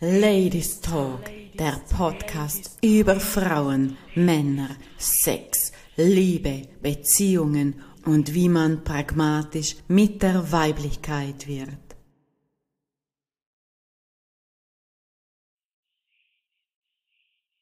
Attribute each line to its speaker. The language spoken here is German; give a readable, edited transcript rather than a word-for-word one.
Speaker 1: Ladies Talk, der Podcast über Frauen, Männer, Sex, Liebe, Beziehungen und wie man pragmatisch mit der Weiblichkeit wird.